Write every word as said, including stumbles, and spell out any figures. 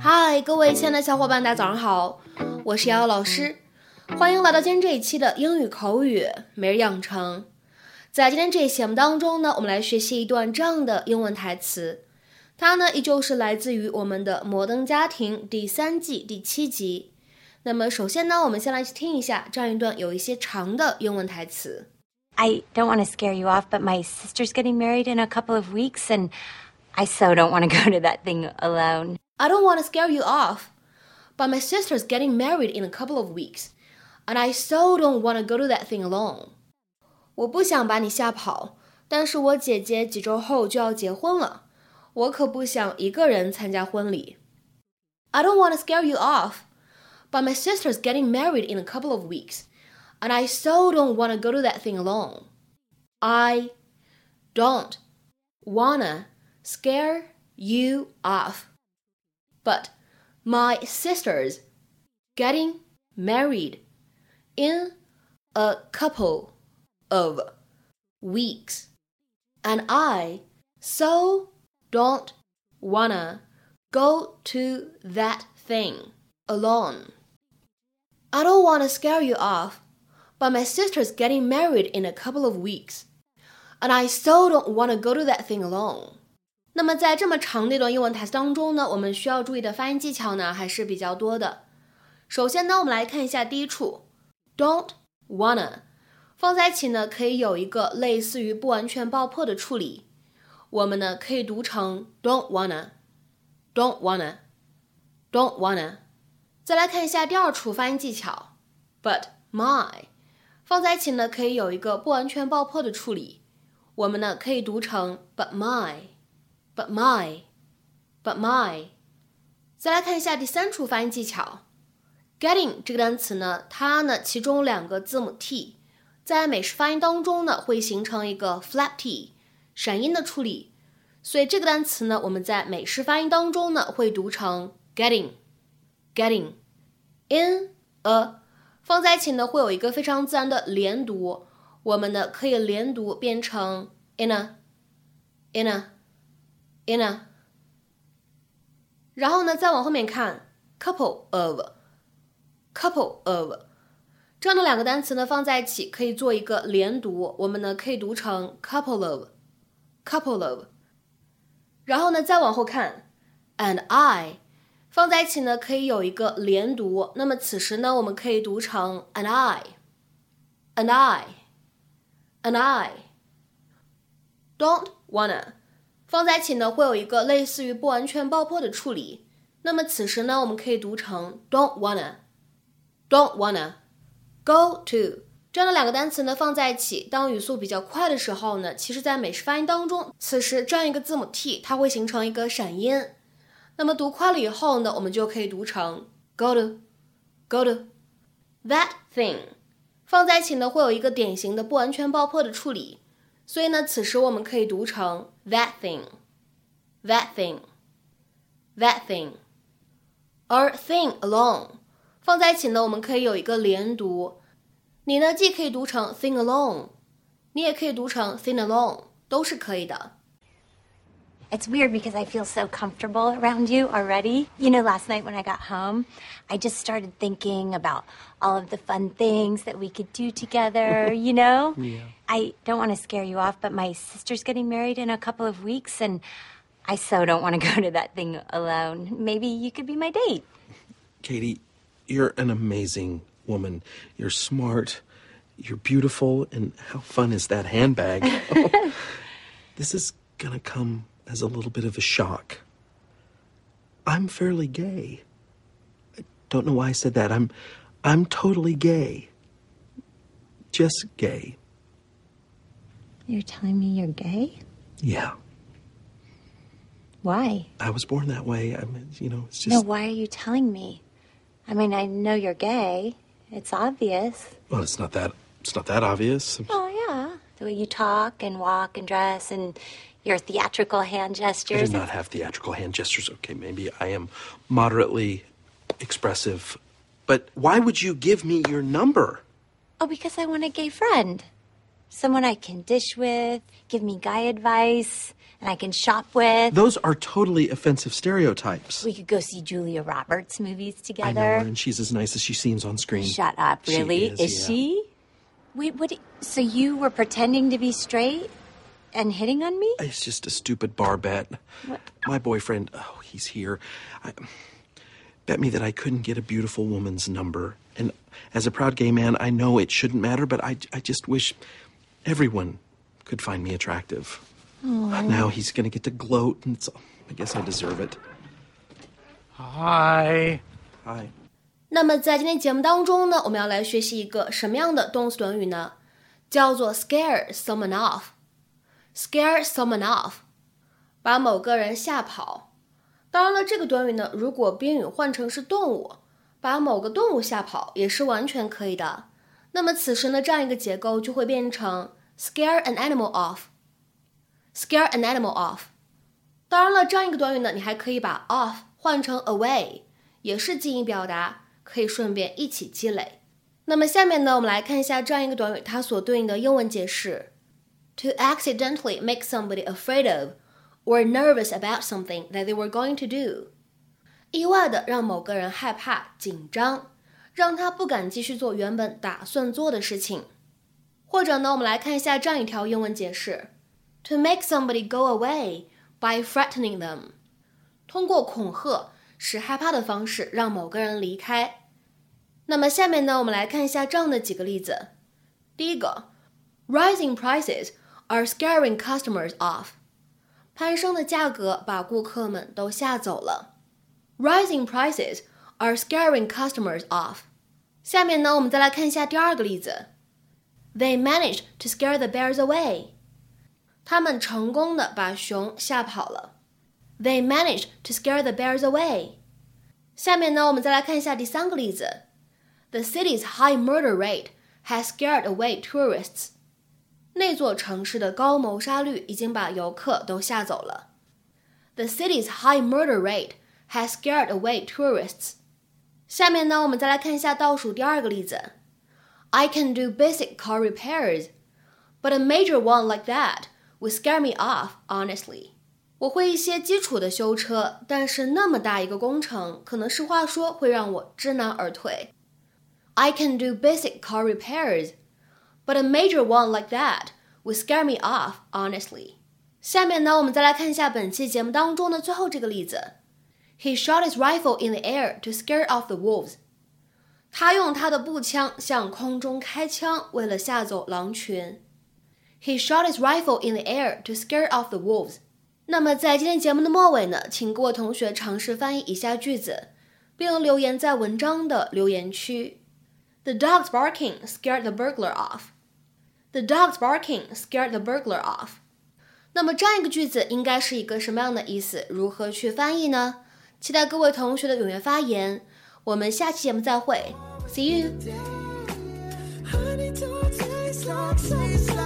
嗨，各位亲爱的小伙伴，大家早上好，我是瑶瑶老师，欢迎来到今天这一期的英语口语每日养成。在今天这一期节目当中呢，我们来学习一段这样的英文台词，它呢依旧是来自于我们的《摩登家庭》第三季第七集。那么首先呢，我们先来听一下这样一段有一些长的英文台词。 I don't want to scare you off, but my sister's getting married in a couple of weeks, and I so don't want to go to that thing alone. I don't want to scare you off, but my sister's getting married in a couple of weeks, and I so don't want to go to that thing alone. 我不想把你吓跑，但是我姐姐几周后就要结婚了，我可不想一个人参加婚礼。I don't want to scare you off, but my sister's getting married in a couple of weeks.And I so don't want to go to that thing alone. I don't wanna scare you off. But my sister's getting married in a couple of weeks. And I so don't wanna go to that thing alone. I don't want to scare you off.But my sister's getting married in a couple of weeks, and I so don't want to go to that thing alone. 那么在这么长的一段英文台词当中呢，我们需要注意的发音技巧呢还是比较多的。首先呢，我们来看一下第一处 don't wanna 放在一起呢，可以有一个类似于不完全爆破的处理，我们呢可以读成 don't wanna don't wanna don't wanna。 再来看一下第二处发音技巧 but my放在一起呢，可以有一个不完全爆破的处理，我们呢可以读成 but my but my but my。 再来看一下第三处发音技巧 getting 这个单词呢，它呢其中两个字母 t 在美式发音当中呢会形成一个 flap t 闪音的处理，所以这个单词呢我们在美式发音当中呢会读成 getting getting in a放在一起呢会有一个非常自然的连读，我们呢可以连读变成 in a in a in a。 然后呢再往后面看 couple of couple of 这样的两个单词呢放在一起可以做一个连读，我们呢可以读成 couple of couple of。 然后呢再往后看 and I放在一起呢可以有一个连读，那么此时呢我们可以读成 and I and I and I。 don't wanna 放在一起呢会有一个类似于不完全爆破的处理，那么此时呢我们可以读成 don't wanna don't wanna。 go to 这样的两个单词呢放在一起，当语速比较快的时候呢，其实在美式发音当中，此时这样一个字母 t 它会形成一个闪音，那么读快了以后呢，我们就可以读成 go to go to。 that thing 放在一起呢会有一个典型的不完全爆破的处理，所以呢此时我们可以读成 that thing that thing that thing。 而 thing alone 放在一起呢我们可以有一个连读，你呢既可以读成 thing alone， 你也可以读成 thing alone， 都是可以的。 It's weird because I feel so comfortable around you already. You know, last night when I got home, I just started thinking about all of the fun things that we could do together, you know? Yeah. I don't want to scare you off, but my sister's getting married in a couple of weeks, and I so don't want to go to that thing alone. Maybe you could be my date. Katie, you're an amazing woman. You're smart, you're beautiful, and how fun is that handbag? Oh, this is gonna come...as a little bit of a shock. I'm fairly gay. I don't know why I said that. I'm I'm totally gay. Just gay. You're telling me you're gay? Yeah. Why? I was born that way. I mean, you know, it's just... No, why are you telling me? I mean, I know you're gay. It's obvious. Well, it's not that it's not that obvious. Oh, yeah. The way you talk and walk and dress and your theatrical hand gestures. I do not have theatrical hand gestures. Okay, maybe I am moderately expressive. But why would you give me your number? Oh, because I want a gay friend. Someone I can dish with, give me guy advice, and I can shop with. Those are totally offensive stereotypes. We could go see Julia Roberts movies together. I know her, and she's as nice as she seems on screen. Shut up, really? She is, is yeah. she? Wait, what? So you were pretending to be straight and hitting on me? It's just a stupid bar bet. What? My boyfriend, oh, he's here. I, bet me that I couldn't get a beautiful woman's number. And as a proud gay man, I know it shouldn't matter, but I, I just wish everyone could find me attractive. Aww. Now he's going to get to gloat, and it's, I guess I deserve it. Hi. Hi. 那么在今天节目当中呢，我们要来学习一个什么样的动词短语呢？叫做 scare someone off。scare someone off， 把某个人吓跑。当然了，这个短语呢，如果宾语换成是动物，把某个动物吓跑也是完全可以的。那么此时呢，这样一个结构就会变成 scare an animal off。scare an animal off。当然了，这样一个短语呢，你还可以把 off 换成 away， 也是近义表达，可以顺便一起积累。那么下面呢，我们来看一下这样一个短语它所对应的英文解释。To accidentally make somebody afraid of or nervous about something that they were going to do. 意外的让某个人害怕、紧张，让他不敢继续做原本打算做的事情。或者呢，我们来看一下这样一条英文解释。To make somebody go away by threatening them. 通过恐吓，使害怕的方式让某个人离开。那么下面呢，我们来看一下这样的几个例子。第一个 ，Rising prices are scaring customers off. 攀升的价格把顾客们都吓走了。Rising prices are scaring customers off. 下面呢，我们再来看一下第二个例子。They managed to scare the bears away. 他们成功的把熊吓跑了。They managed to scare the bears away. 下面呢，我们再来看一下第三个例子。The city's high murder rate has scared away tourists. 那座城市的高谋杀率已经把游客都吓走了。The city's high murder rate has scared away tourists. 下面呢，我们再来看一下倒数第二个例子。I can do basic car repairs, but a major one like that would scare me off, honestly. 我会一些基础的修车，但是那么大一个工程，可能实话说会让我知难而退。I can do basic car repairs, but a major one like that would scare me off, honestly. 下面呢，我们再来看一下本期节目当中的最后这个例子。He shot his rifle in the air to scare off the wolves. 他用他的步枪向空中开枪，为了吓走狼群。He shot his rifle in the air to scare off the wolves. 那么在今天节目的末尾呢，请各位同学尝试翻译以下句子，并留言在文章的留言区。The dog's barking scared the burglar off. The dog's barking scared the burglar off. 那么这样一个句子应该是一个什么样的意思？如何去翻译呢？期待各位同学的踊跃发言。我们下期节目再会。See you.